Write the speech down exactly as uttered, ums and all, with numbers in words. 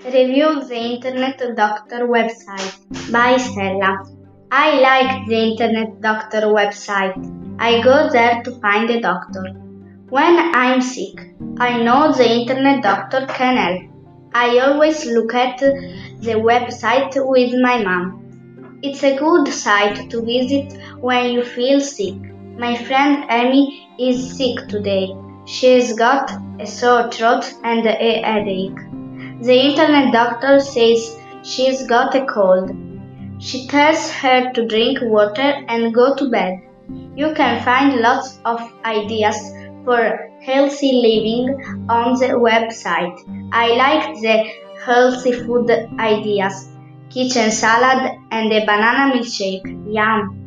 Review the Internet Doctor website by Stella. I like the Internet Doctor website. I go there to find a doctor. When I'm sick, I know the Internet Doctor can help. I always look at the website with my mom. It's a good site to visit when you feel sick. My friend Amy is sick today. She's got a sore throat and a headache. The Internet Doctor says she's got a cold. She tells her to drink water and go to bed. You can find lots of ideas for healthy living on the website. I like the healthy food ideas, kitchen salad and a banana milkshake. Yum!